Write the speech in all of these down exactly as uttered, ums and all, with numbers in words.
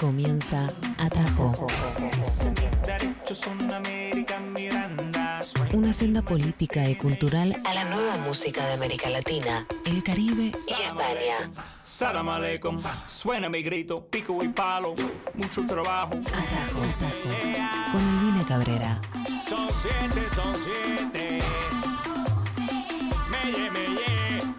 comienza Atajo. Una senda política y cultural a la nueva música de América Latina, el Caribe y España. Salam aleikum, suena mi grito, pico y palo, mucho trabajo. Atajo, Atajo, con Elvina Cabrera. Son siete, son siete. Meye, meye.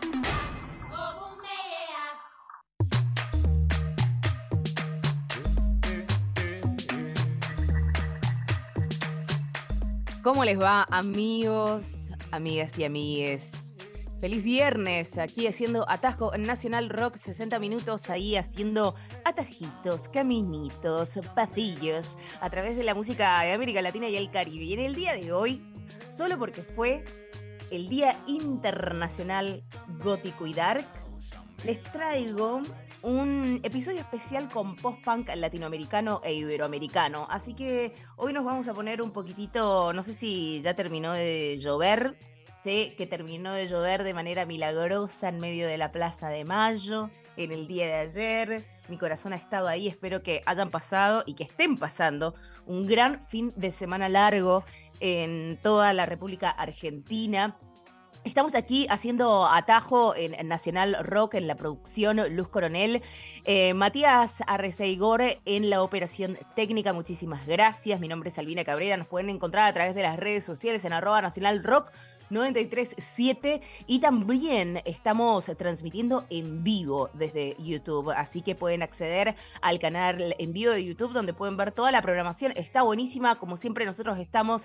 ¿Cómo les va, amigos, amigas y amigues? Feliz viernes, aquí haciendo Atajo Nacional Rock, sesenta minutos ahí haciendo atajitos, caminitos, pasillos a través de la música de América Latina y el Caribe. Y en el día de hoy, solo porque fue el Día Internacional Gótico y Dark, les traigo un episodio especial con post-punk latinoamericano e iberoamericano. Así que hoy nos vamos a poner un poquitito, no sé si ya terminó de llover. Sé que terminó de llover de manera milagrosa en medio de la Plaza de Mayo, en el día de ayer. Mi corazón ha estado ahí, espero que hayan pasado y que estén pasando un gran fin de semana largo en toda la República Argentina. Estamos aquí haciendo Atajo en, en Nacional Rock, en la producción Luz Coronel. Eh, Matías Arreceigor en la operación técnica, muchísimas gracias. Mi nombre es Elvina Cabrera, nos pueden encontrar a través de las redes sociales en arroba Nacional Rock noventa y tres siete y también estamos transmitiendo en vivo desde YouTube, así que pueden acceder al canal en vivo de YouTube donde pueden ver toda la programación. Está buenísima, como siempre nosotros estamos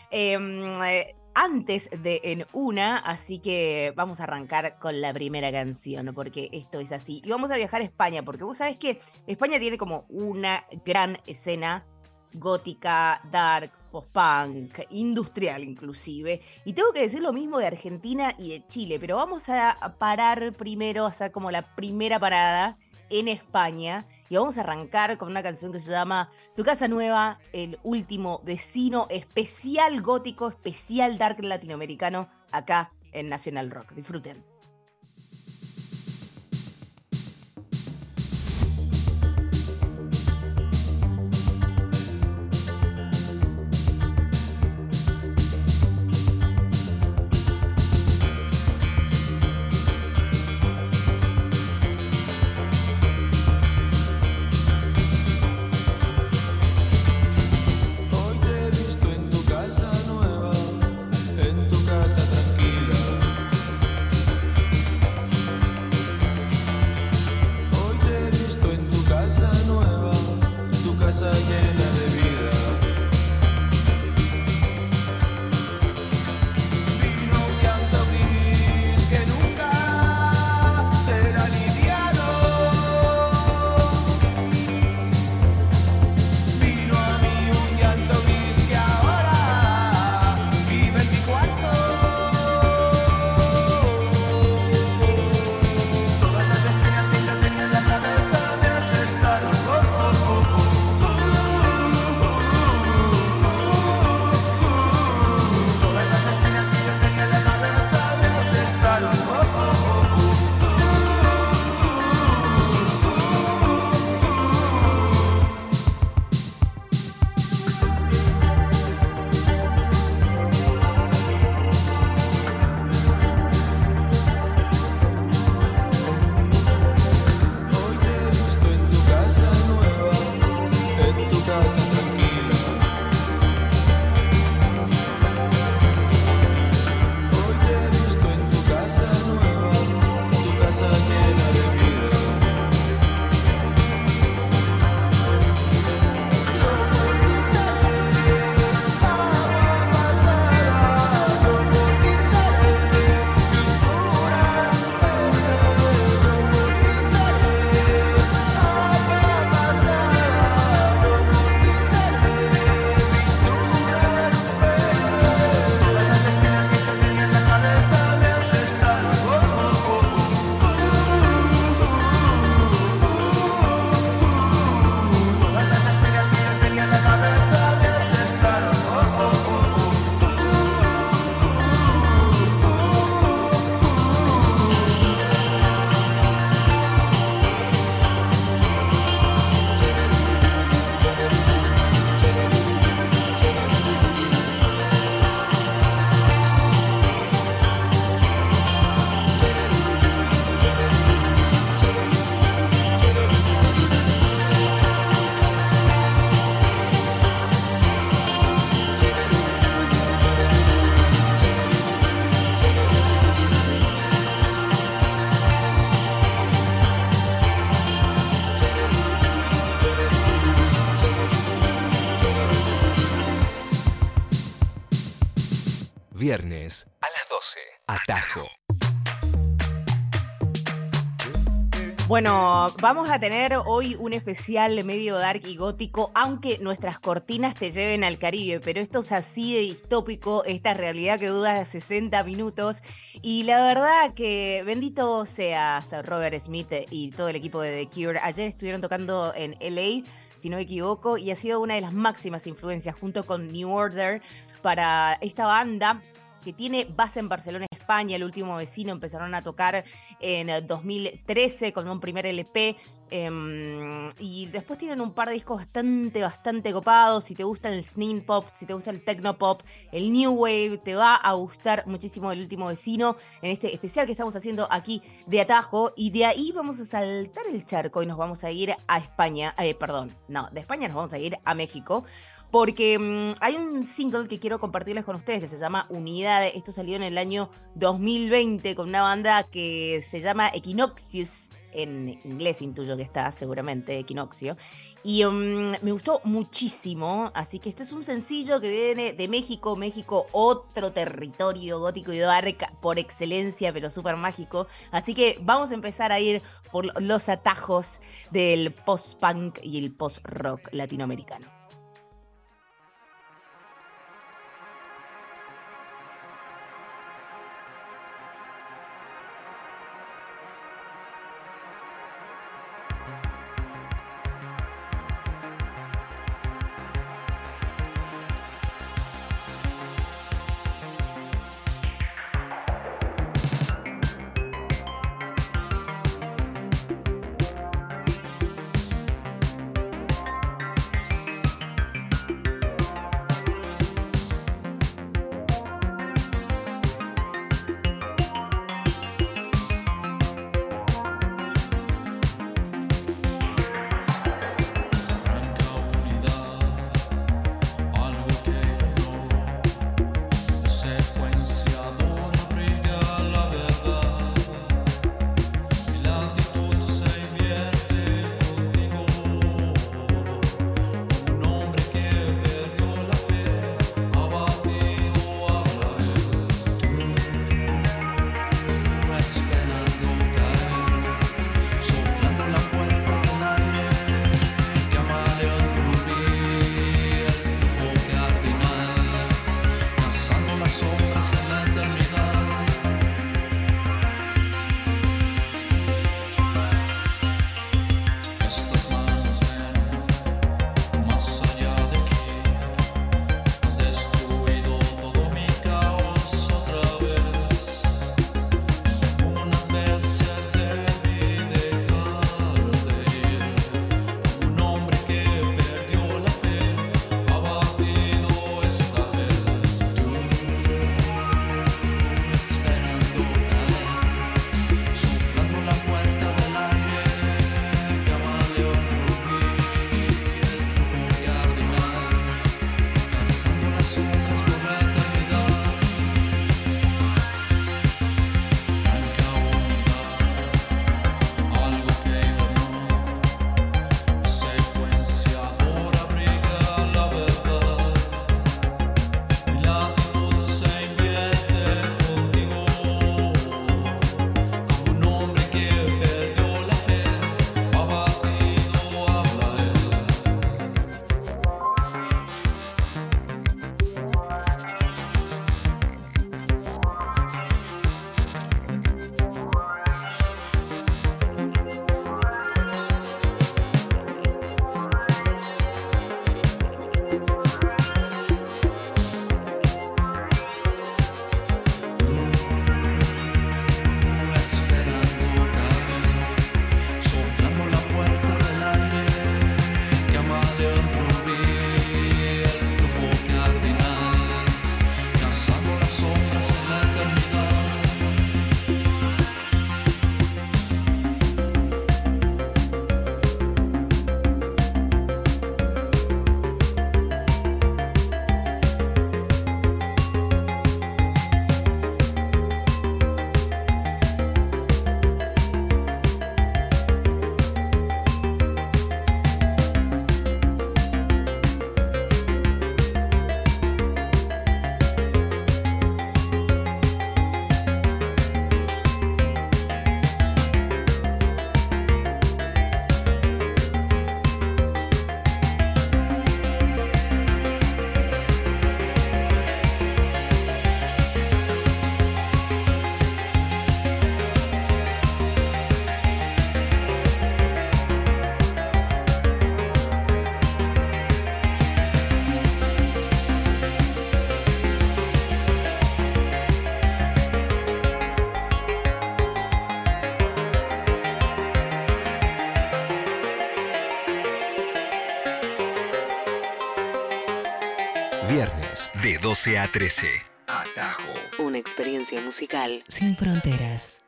eh, antes de En Una, así que vamos a arrancar con la primera canción, porque esto es así. Y vamos a viajar a España, porque vos sabés que España tiene como una gran escena gótica, dark, post-punk, industrial inclusive. Y tengo que decir lo mismo de Argentina y de Chile, pero vamos a parar primero, a hacer como la primera parada en España. Y vamos a arrancar con una canción que se llama Tu Casa Nueva, el último vecino, especial gótico, especial dark latinoamericano, acá en Nacional Rock. Disfruten. Casa tranquila, doce. Atajo. Bueno, vamos a tener hoy un especial medio dark y gótico, aunque nuestras cortinas te lleven al Caribe, pero esto es así de distópico, esta realidad que dura sesenta minutos, y la verdad que bendito seas Robert Smith y todo el equipo de The Cure. Ayer estuvieron tocando en L A, si no me equivoco, y ha sido una de las máximas influencias junto con New Order para esta banda que tiene base en Barcelona, España. El último vecino empezaron a tocar en dos mil trece con un primer L P, eh, y después tienen un par de discos bastante, bastante copados. Si te gusta el synth pop, si te gusta el techno pop, el new wave, te va a gustar muchísimo El último vecino en este especial que estamos haciendo aquí de Atajo, y de ahí vamos a saltar el charco y nos vamos a ir a España, eh, perdón, no, de España nos vamos a ir a México, porque mmm, hay un single que quiero compartirles con ustedes que se llama Unidad. Esto salió en el año dos mil veinte con una banda que se llama Equinoxius, en inglés intuyo que está seguramente Equinoccio, y um, me gustó muchísimo. Así que este es un sencillo que viene de México, México, otro territorio gótico y dark por excelencia, pero súper mágico. Así que vamos a empezar a ir por los atajos del post-punk y el post-rock latinoamericano. Viernes de doce a trece. Atajo. Una experiencia musical sin fronteras.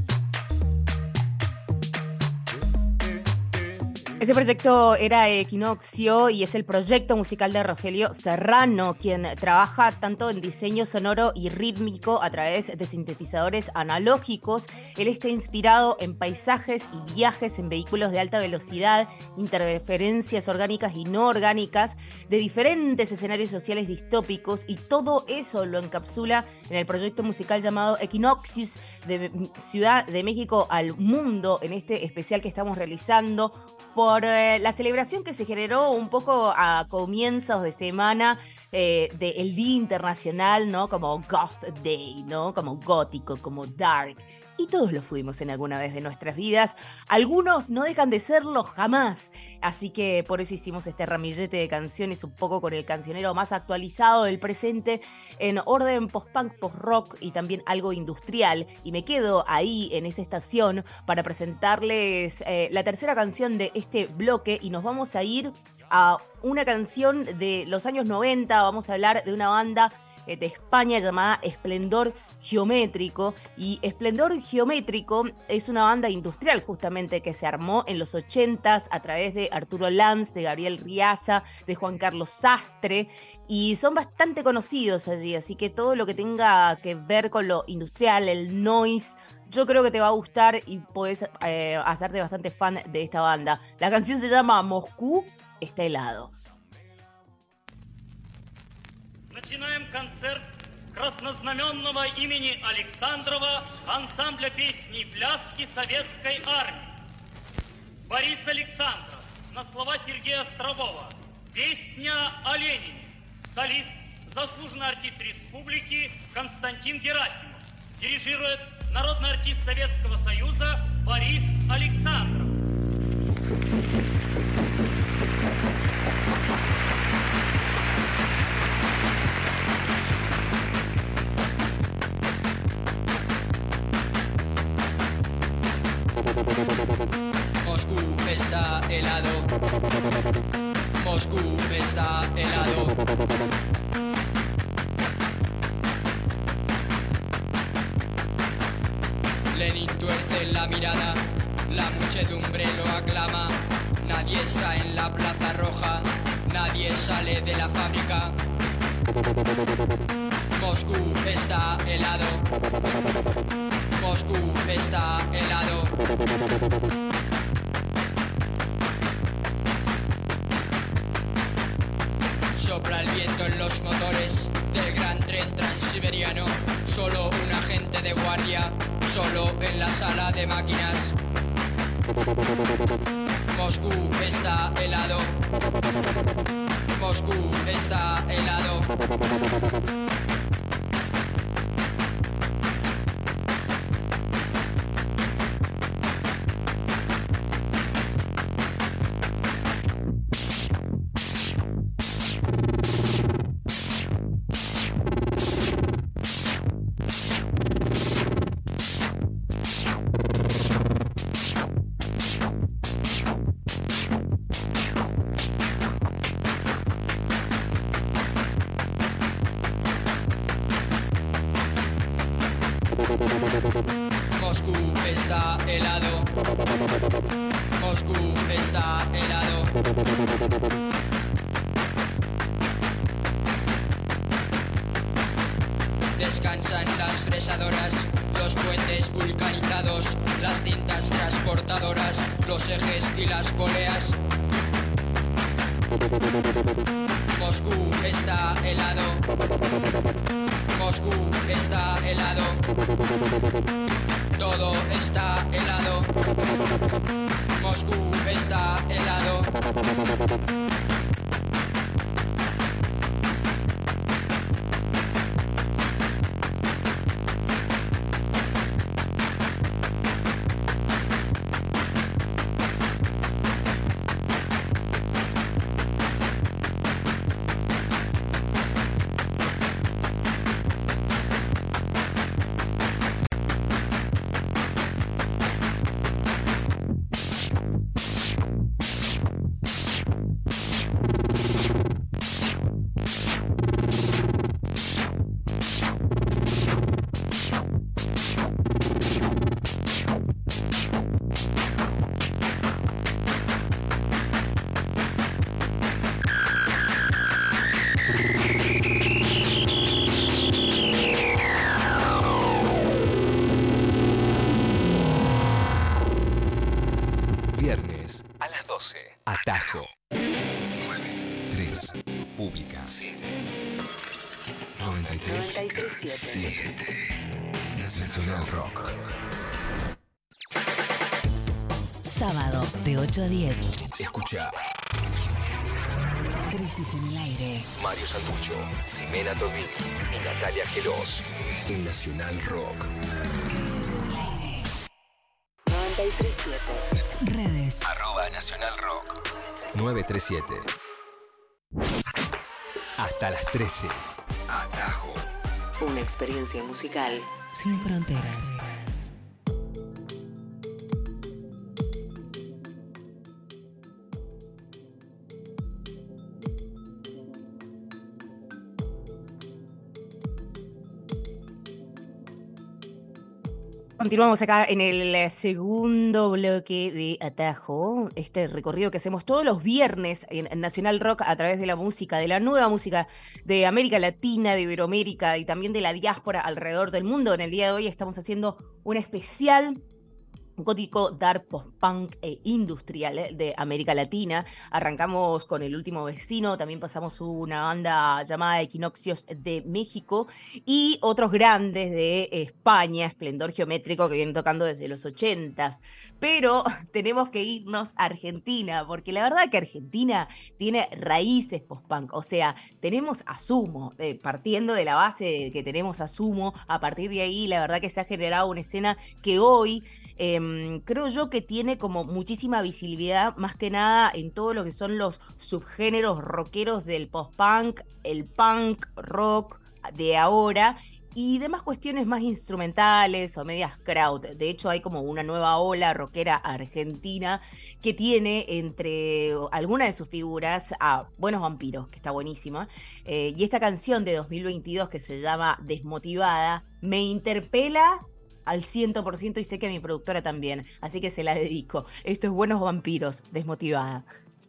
Ese proyecto era Equinoccio y es el proyecto musical de Rogelio Serrano, quien trabaja tanto en diseño sonoro y rítmico a través de sintetizadores analógicos. Él está inspirado en paisajes y viajes en vehículos de alta velocidad, interferencias orgánicas y no orgánicas, de diferentes escenarios sociales distópicos, y todo eso lo encapsula en el proyecto musical llamado Equinoxius, de Ciudad de México al Mundo, en este especial que estamos realizando por eh, la celebración que se generó un poco a comienzos de semana eh, del Día Internacional, ¿no? Como Goth Day, ¿no? Como gótico, como dark. Y todos lo fuimos en alguna vez de nuestras vidas. Algunos no dejan de serlo jamás. Así que por eso hicimos este ramillete de canciones un poco con el cancionero más actualizado del presente, en orden post-punk, post-rock y también algo industrial. Y me quedo ahí en esa estación para presentarles eh, la tercera canción de este bloque, y nos vamos a ir a una canción de los años noventa. Vamos a hablar de una banda de España llamada Esplendor Geométrico, y Esplendor Geométrico es una banda industrial justamente que se armó en los ochentas a través de Arturo Lanz, de Gabriel Riaza, de Juan Carlos Sastre, y son bastante conocidos allí, así que todo lo que tenga que ver con lo industrial, el noise, yo creo que te va a gustar y podés eh, hacerte bastante fan de esta banda. La canción se llama Moscú está helado. Начинаем концерт краснознаменного имени Александрова ансамбля песни и пляски Советской Армии. Борис Александров на слова Сергея Острового. Песня о Ленине. Солист, заслуженный артист республики Константин Герасимов. Дирижирует народный артист Советского Союза Борис Александров. Moscú está helado. Moscú está helado. Lenin tuerce la mirada, la muchedumbre lo aclama. Nadie está en la Plaza Roja, nadie sale de la fábrica. Moscú está helado. Moscú está helado. Sopla el viento en los motores del gran tren transiberiano. Solo un agente de guardia, solo en la sala de máquinas. Moscú está helado. Moscú está helado. Moscú está helado. Moscú está helado. Descansan las fresadoras, los puentes vulcanizados, las cintas transportadoras, los ejes y las poleas. Moscú está helado. Moscú está helado. Todo está helado. Moscú está helado. doce. Atajo. nueve tres. Pública. siete. noventa y tres. noventa y tres punto siete. Nacional Rock. Sábado de ocho a diez. Escucha. Crisis en el aire. Mario Santucho, Ximena Todini y Natalia Gelos. En Nacional Rock. Crisis en el aire. noventa y tres punto siete. Redes. Arroba Nacional Rock. nueve tres siete. Hasta las trece. Atajo. Una experiencia musical sin fronteras. Continuamos acá en el segundo bloque de Atajo, este recorrido que hacemos todos los viernes en Nacional Rock a través de la música, de la nueva música de América Latina, de Iberoamérica y también de la diáspora alrededor del mundo. En el día de hoy estamos haciendo un especial gótico, dark, post-punk e industrial eh, de América Latina. Arrancamos con El Último Vecino, también pasamos una banda llamada Equinoccios de México y otros grandes de España, Esplendor Geométrico, que vienen tocando desde los ochentas. Pero tenemos que irnos a Argentina, porque la verdad que Argentina tiene raíces post-punk. O sea, tenemos a Sumo, eh, partiendo de la base de que tenemos a Sumo, a partir de ahí la verdad que se ha generado una escena que hoy Eh, creo yo que tiene como muchísima visibilidad, más que nada en todo lo que son los subgéneros rockeros del post-punk, el punk rock de ahora y demás cuestiones más instrumentales o medias crowd. De hecho, hay como una nueva ola rockera argentina que tiene entre algunas de sus figuras a Buenos Vampiros, que está buenísima, eh, y esta canción de dos mil veintidós que se llama Desmotivada me interpela al cien por ciento y sé que a mi productora también, así que se la dedico. Esto es Buenos Vampiros, Desmotivada.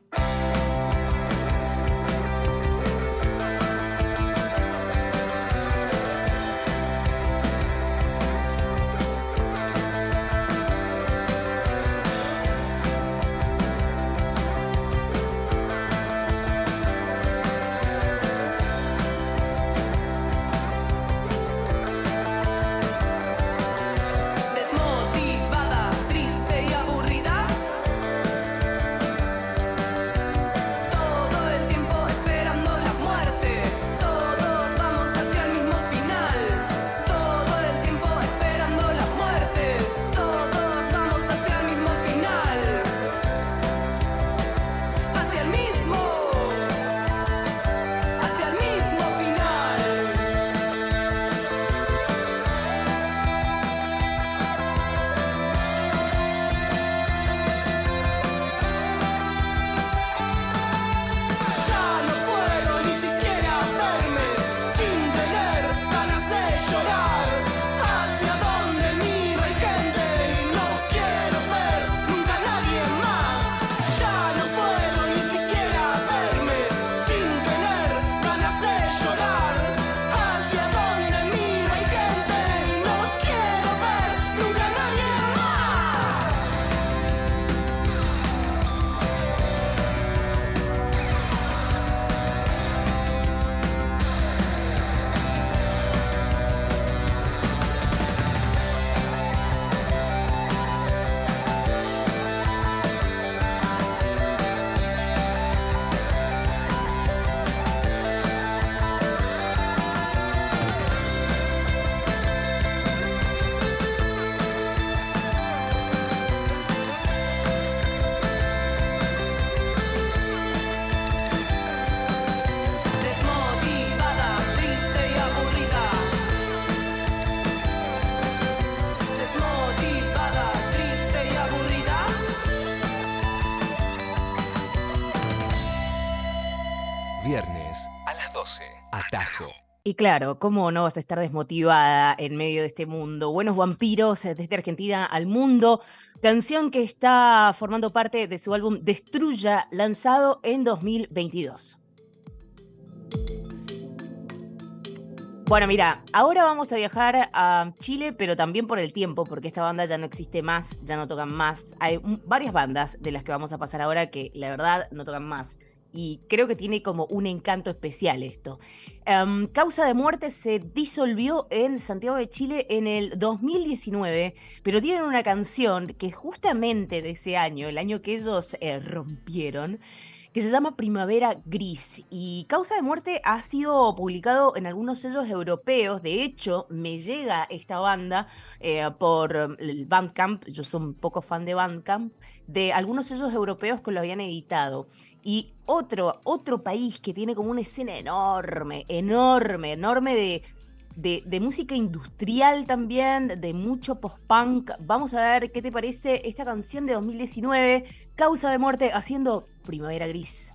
Viernes a las doce. Atajo. Y claro, ¿cómo no vas a estar desmotivada en medio de este mundo? Buenos Vampiros, eh, desde Argentina al mundo. Canción que está formando parte de su álbum Destruya, lanzado en dos mil veintidós. Bueno, mira, ahora vamos a viajar a Chile, pero también por el tiempo, porque esta banda ya no existe más, ya no tocan más. Hay un- varias bandas de las que vamos a pasar ahora que la verdad no tocan más. Y creo que tiene como un encanto especial esto. Em, Causa de Muerte se disolvió en Santiago de Chile en el dos mil diecinueve, pero tienen una canción que justamente de ese año, el año que ellos eh, rompieron, que se llama Primavera Gris. Y Causa de Muerte ha sido publicado en algunos sellos europeos. De hecho, me llega esta banda eh, por um, el Bandcamp, yo soy un poco fan de Bandcamp, de algunos sellos europeos que lo habían editado. Y otro, otro país que tiene como una escena enorme, enorme, enorme de, de, de música industrial también, de mucho post-punk. Vamos a ver qué te parece esta canción de dos mil diecinueve, Causa de Muerte, haciendo Primavera Gris.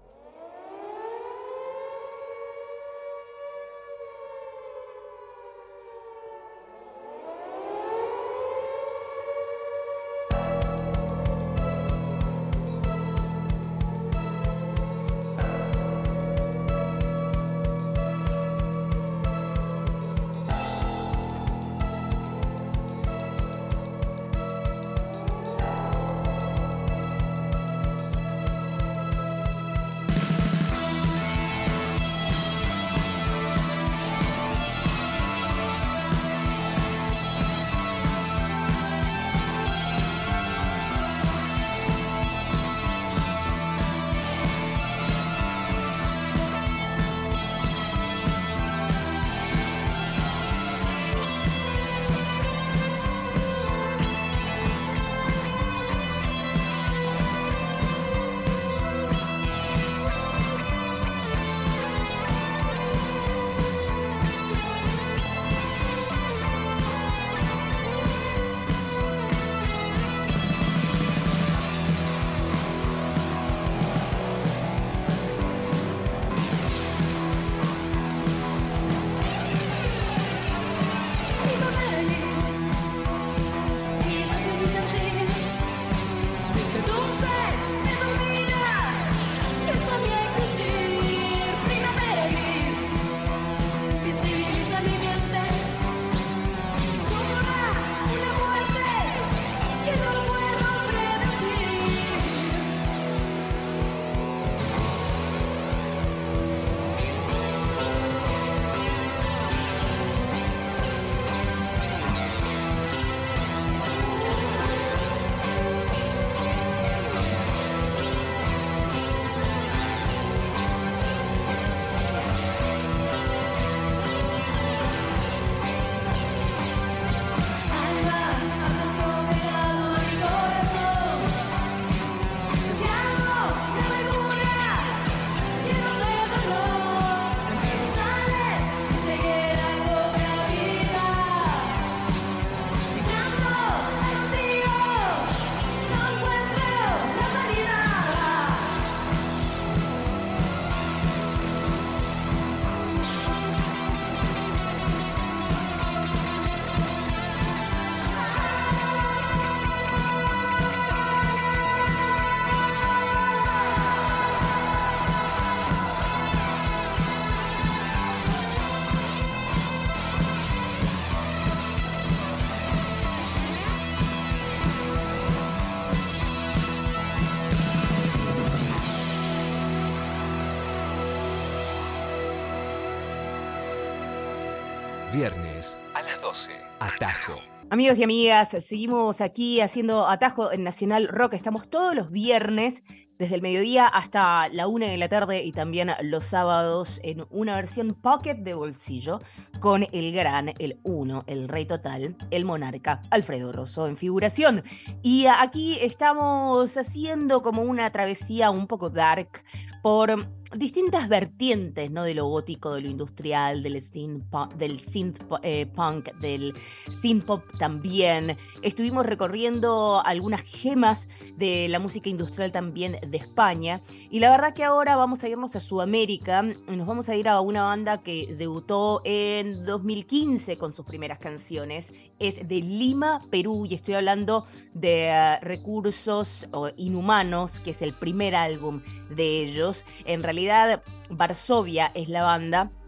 Viernes a las doce. Atajo. Amigos y amigas, seguimos aquí haciendo Atajo en Nacional Rock. Estamos todos los viernes, desde el mediodía hasta la una de la tarde y también los sábados en una versión pocket de bolsillo con el gran, el uno, el rey total, el monarca, Alfredo Rosso en figuración. Y aquí estamos haciendo como una travesía un poco dark por distintas vertientes, ¿no? De lo gótico, de lo industrial, del synth punk, del synth eh, punk, del synth pop también. Estuvimos recorriendo algunas gemas de la música industrial también de España. Y la verdad que ahora vamos a irnos a Sudamérica y nos vamos a ir a una banda que debutó en dos mil quince con sus primeras canciones. Es de Lima, Perú, y estoy hablando de uh, Recursos uh, Inhumanos, que es el primer álbum de ellos. En realidad, Varsovia es la banda.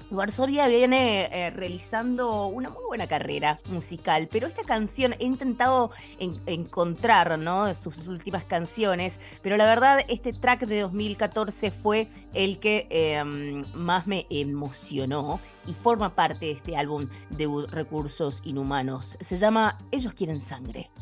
Varsovia viene eh, realizando una muy buena carrera musical, pero esta canción he intentado en, encontrar, ¿no?, sus últimas canciones, pero la verdad este track de dos mil catorce fue el que eh, más me emocionó y forma parte de este álbum de Recursos Inhumanos. Se llama Ellos Quieren Sangre.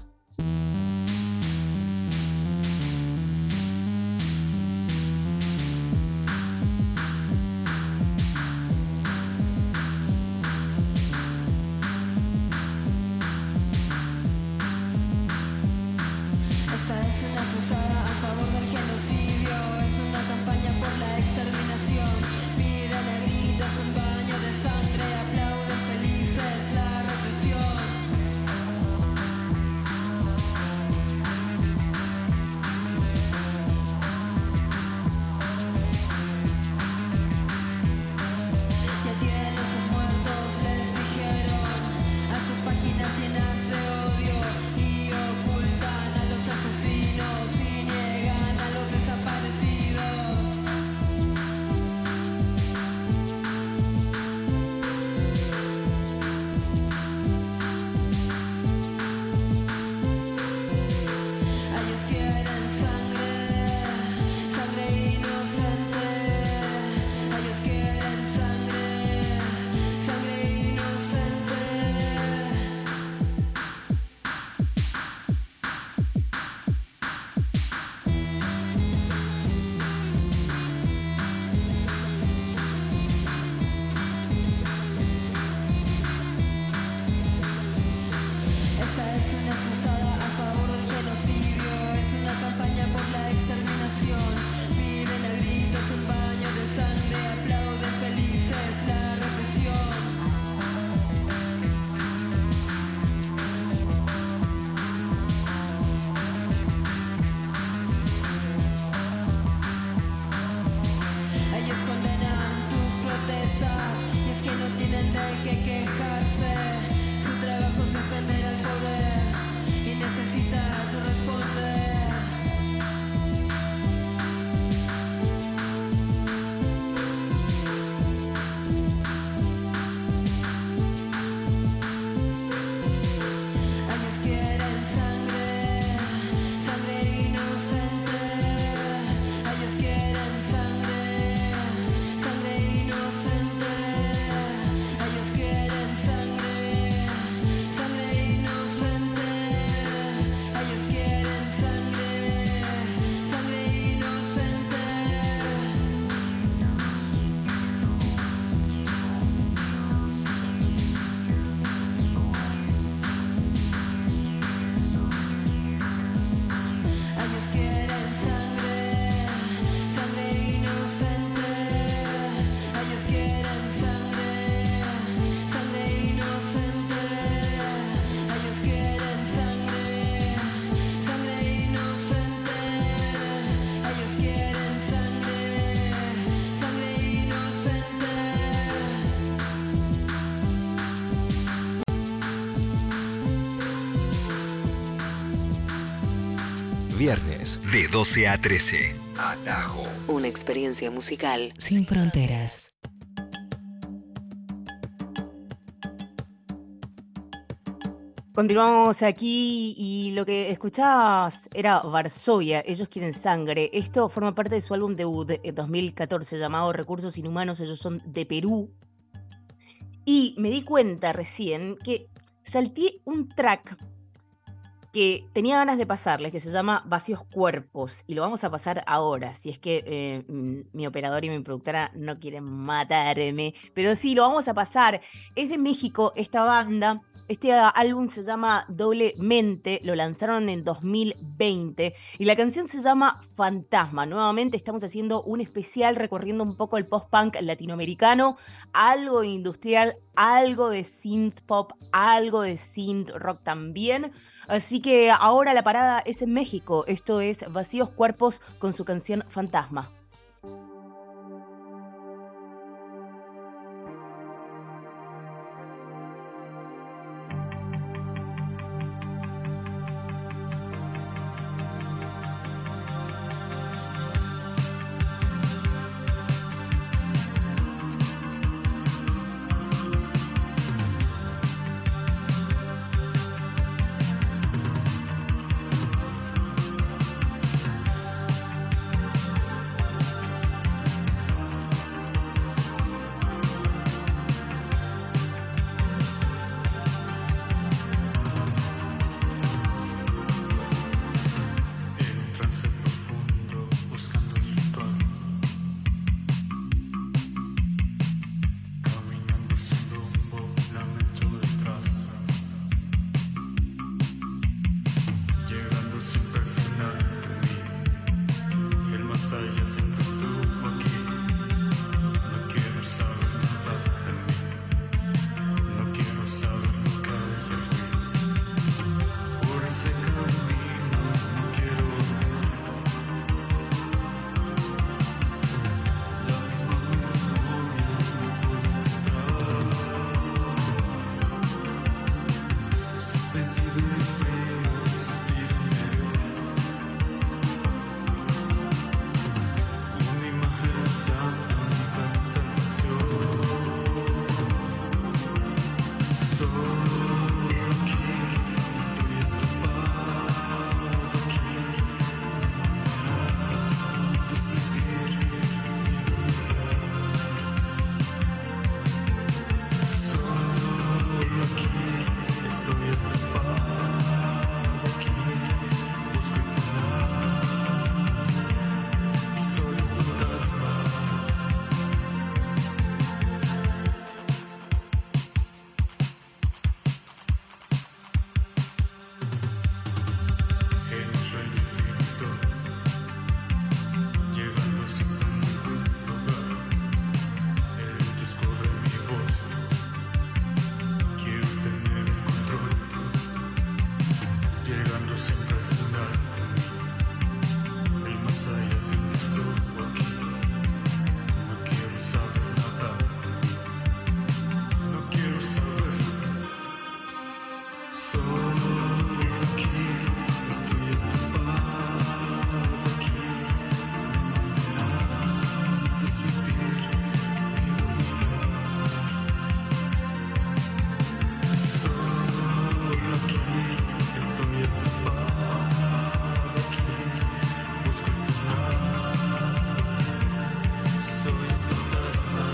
Viernes de doce a trece. Atajo. Una experiencia musical sin fronteras. Continuamos aquí y lo que escuchabas era Varsovia, Ellos Quieren Sangre. Esto forma parte de su álbum debut de dos mil catorce llamado Recursos Inhumanos. Ellos son de Perú. Y me di cuenta recién que salté un track que tenía ganas de pasarles, que se llama Vacíos Cuerpos, y lo vamos a pasar ahora, si es que eh, mi operador y mi productora no quieren matarme, pero sí, lo vamos a pasar. Es de México esta banda, este álbum se llama Doblemente, lo lanzaron en dos mil veinte, y la canción se llama Fantasma. Nuevamente estamos haciendo un especial recorriendo un poco el post-punk latinoamericano, algo de industrial, algo de synth pop, algo de synth rock también. Así que ahora la parada es en México. Esto es Vacíos Cuerpos con su canción Fantasma. llegando siempre al final. El más allá siempre estuvo aquí. No quiero saber nada, no quiero saber. Solo aquí estoy atrapado aquí. Me manera de sentir y de olvidar. Solo aquí estoy atrapado aquí. Busco el final. Soy un fantasma.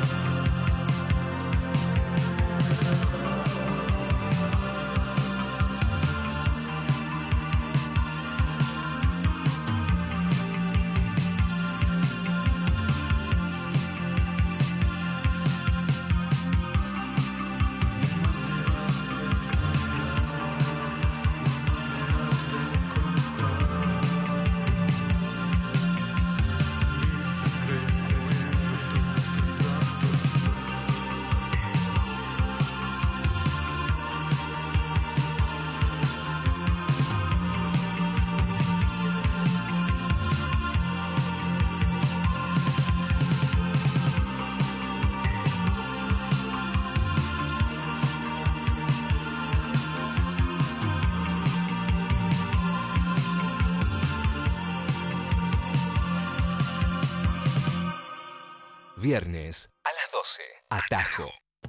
Viernes a las doce. Atajo.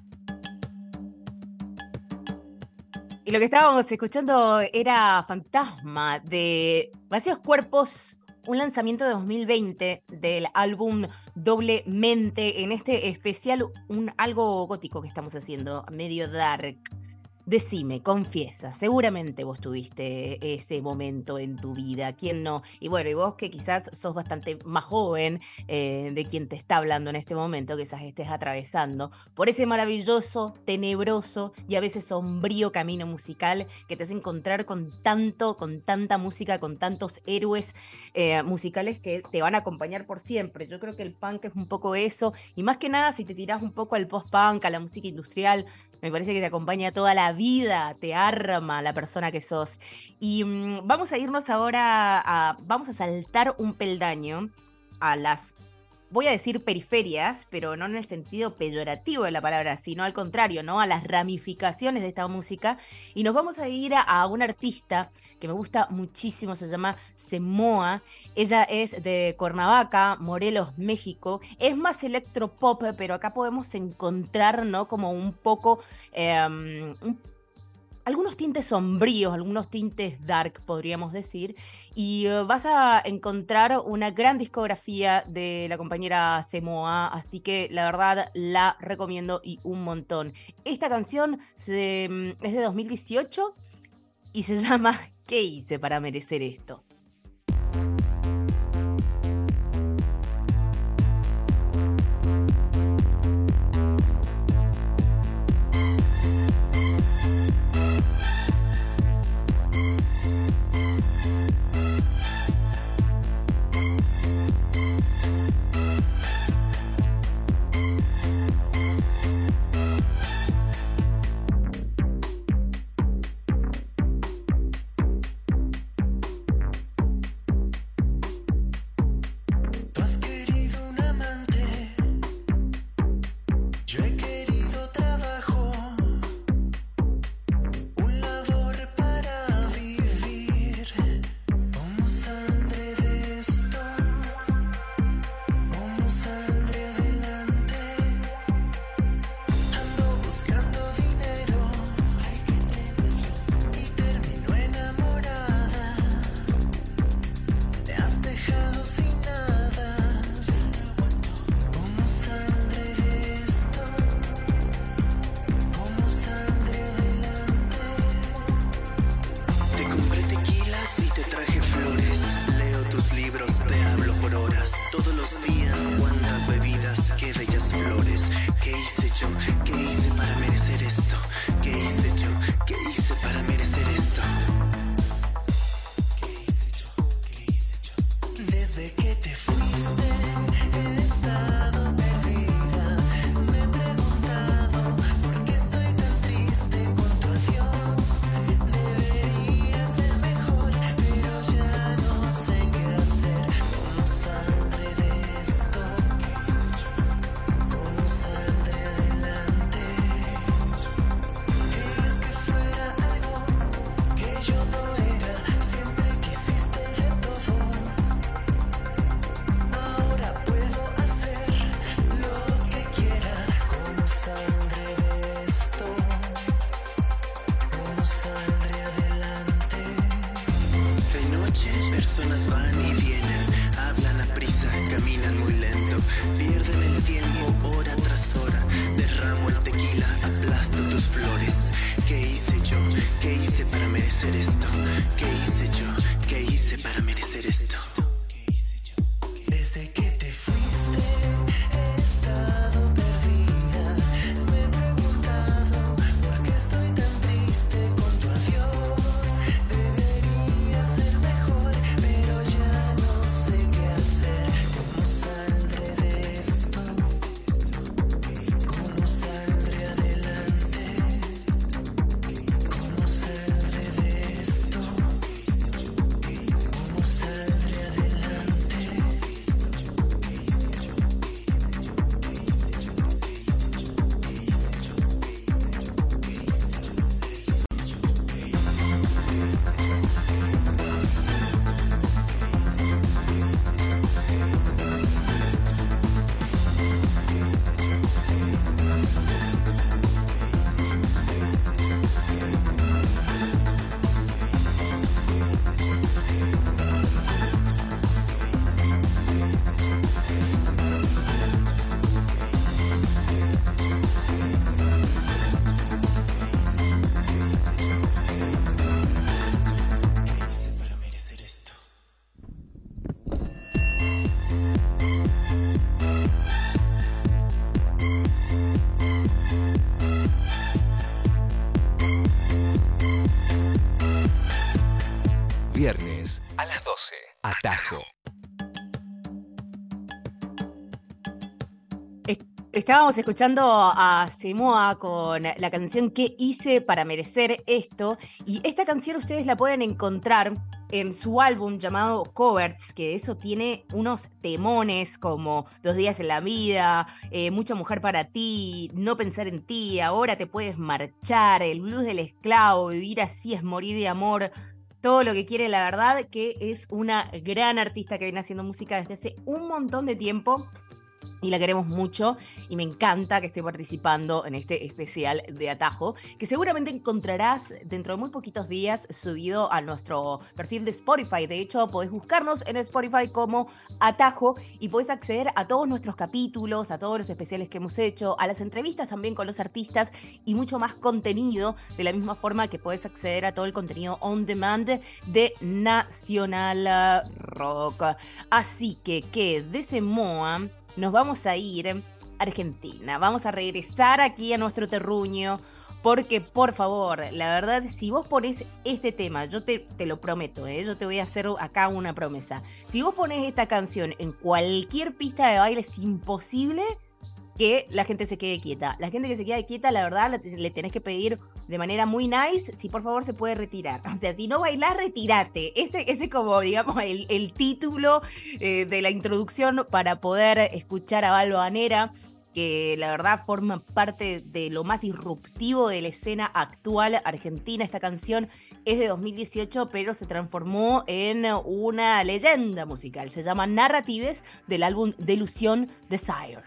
Y lo que estábamos escuchando era Fantasma de Vacíos Cuerpos, un lanzamiento de dos mil veinte del álbum Doblemente, en este especial, un algo gótico que estamos haciendo, medio dark. Decime, confiesa, seguramente vos tuviste ese momento en tu vida, ¿quién no? Y bueno, y vos que quizás sos bastante más joven eh, de quien te está hablando en este momento, quizás estés atravesando por ese maravilloso, tenebroso y a veces sombrío camino musical que te hace encontrar con tanto, con tanta música, con tantos héroes eh, musicales que te van a acompañar por siempre. Yo creo que el punk es un poco eso, y más que nada si te tirás un poco al post-punk, a la música industrial, me parece que te acompaña toda la vida, te arma la persona que sos. Y mmm, vamos a irnos ahora, a, vamos a saltar un peldaño a las, voy a decir periferias, pero no en el sentido peyorativo de la palabra, sino al contrario, ¿no? A las ramificaciones de esta música. Y nos vamos a ir a, a una artista que me gusta muchísimo, se llama Semoa. Ella es de Cuernavaca, Morelos, México. Es más electropop, pero acá podemos encontrar, ¿no? Como un poco, eh, un, algunos tintes sombríos, algunos tintes dark, podríamos decir. Y uh, vas a encontrar una gran discografía de la compañera Semoa, así que la verdad la recomiendo y un montón. Esta canción se, es de dos mil dieciocho y se llama ¿Qué hice para merecer esto? personas van y vienen, hablan a prisa, caminan muy lento, pierden el tiempo hora tras hora. Derramo el tequila, aplasto tus flores. ¿Qué hice yo? ¿Qué hice para merecer esto? ¿Qué hice yo? ¿Qué hice para merecer esto? Desde que te fuiste he estado perdida. Me he preguntado por qué estoy tan triste con tu adiós. Debería ser mejor, pero ya no sé qué hacer. ¿Cómo saldré de esto? ¿Cómo saldré adelante? ¿Cómo saldré de esto? ¿Cómo saldré adelante? Para merecer esto. Viernes a las doce. Atajo. Est- Estábamos escuchando a Semoa con la canción ¿Qué hice para merecer esto? Y esta canción ustedes la pueden encontrar en su álbum llamado Covers, que eso tiene unos temones como Dos días en la vida, eh, Mucha mujer para ti, No pensar en ti, Ahora te puedes marchar, El blues del esclavo, Vivir así es morir de amor. Todo lo que quiere, la verdad, que es una gran artista que viene haciendo música desde hace un montón de tiempo. Y la queremos mucho y me encanta que esté participando en este especial de Atajo, que seguramente encontrarás dentro de muy poquitos días subido a nuestro perfil de Spotify. De hecho, podés buscarnos en Spotify como Atajo y podés acceder a todos nuestros capítulos, a todos los especiales que hemos hecho, a las entrevistas también con los artistas y mucho más contenido, de la misma forma que podés acceder a todo el contenido on demand de Nacional Rock. Así que, que de Semoa nos vamos a ir a Argentina, vamos a regresar aquí a nuestro terruño, porque por favor, la verdad, si vos ponés este tema, yo te, te lo prometo, ¿eh? Yo te voy a hacer acá una promesa, si vos ponés esta canción en cualquier pista de baile es imposible que la gente se quede quieta. La gente que se queda quieta, la verdad, le tenés que pedir de manera muy nice si por favor se puede retirar. O sea, si no bailás, retírate. Ese es como, digamos, el, el título eh, de la introducción para poder escuchar a Balvanera, que la verdad forma parte de lo más disruptivo de la escena actual argentina. Esta canción es de dos mil dieciocho, pero se transformó en una leyenda musical. Se llama Narratives, del álbum Delusión Desire.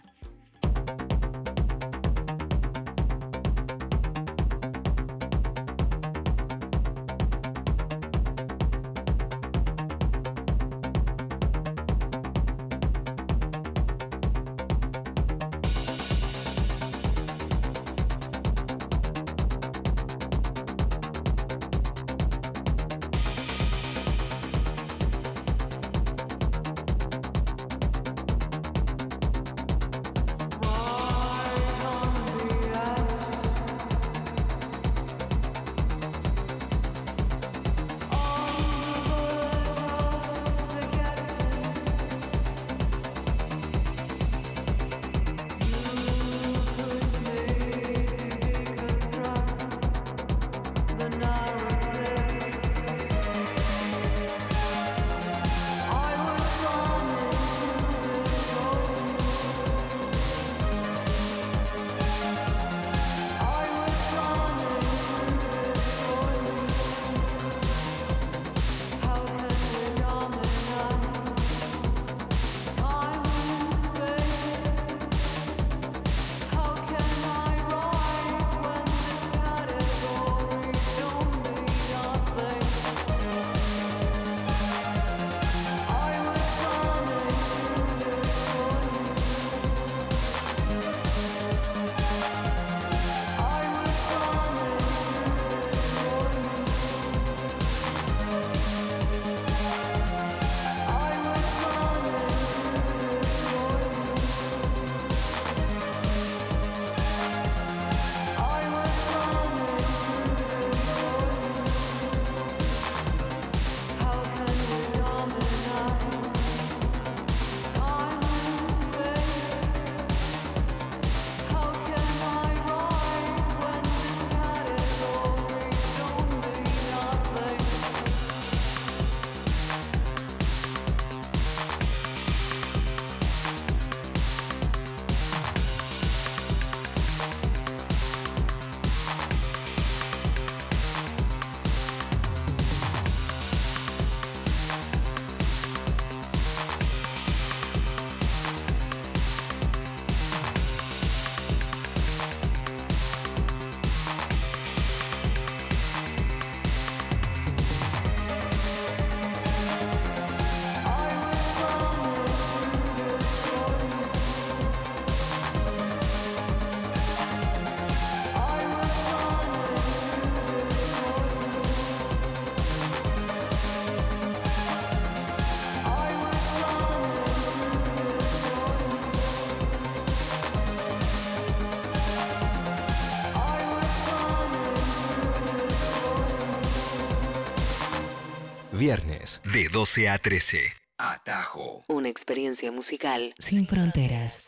viernes, de doce a trece. Atajo. Una experiencia musical sin fronteras.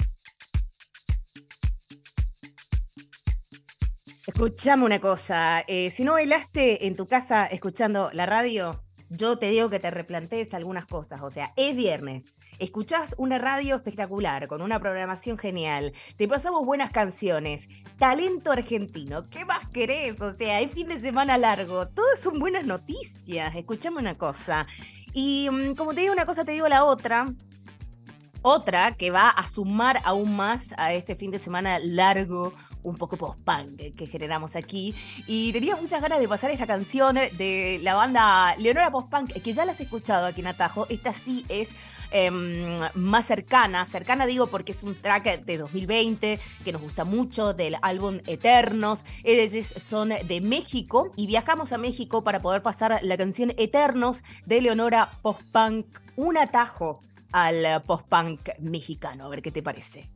Escuchame una cosa, eh, si no bailaste en tu casa escuchando la radio, yo te digo que te replantees algunas cosas. O sea, es viernes, escuchás una radio espectacular, con una programación genial, te pasamos buenas canciones, talento argentino, ¿qué más querés? O sea, es fin de semana largo, todas son buenas noticias. Escuchame una cosa, y mm, como te digo una cosa, te digo la otra. Otra que va a sumar aún más a este fin de semana largo, un poco post-punk que generamos aquí. Y tenía muchas ganas de pasar esta canción de la banda Leonora Post-Punk, que ya la has escuchado aquí en Atajo. Esta sí es eh, más cercana. Cercana digo porque es un track de dos mil veinte que nos gusta mucho, del álbum Eternos. Ellos son de México y viajamos a México para poder pasar la canción Eternos de Leonora Post-Punk. Un atajo al post-punk mexicano. A ver qué te parece.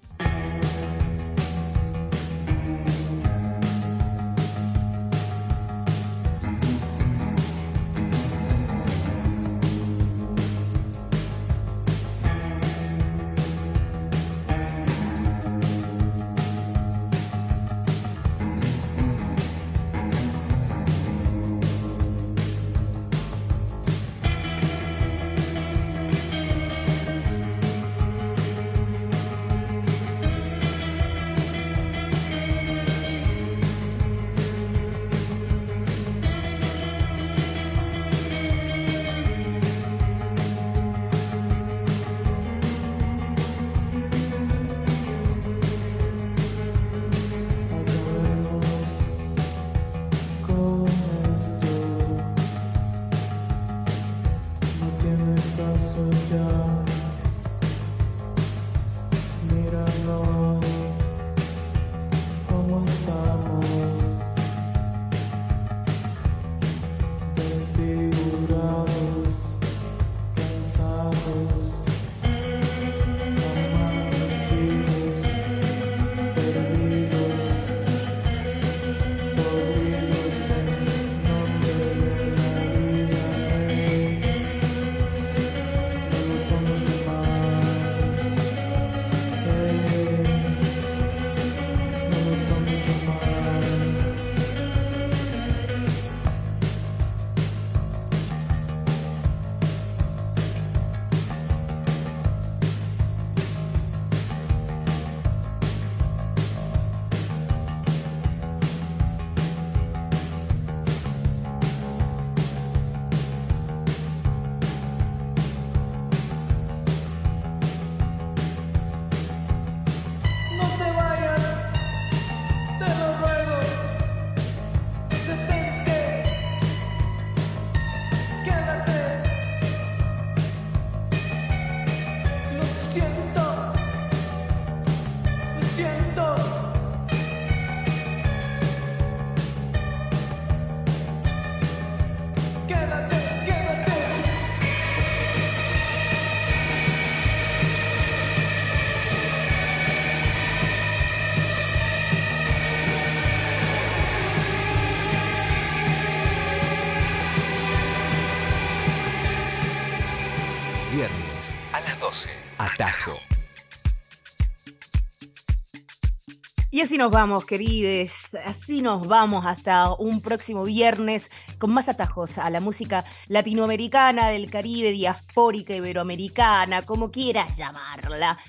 Viernes a las doce. Atajo. Y así nos vamos, querides, así nos vamos hasta un próximo viernes con más atajos a la música latinoamericana, del Caribe, diaspórica, iberoamericana, como quieras llamarla.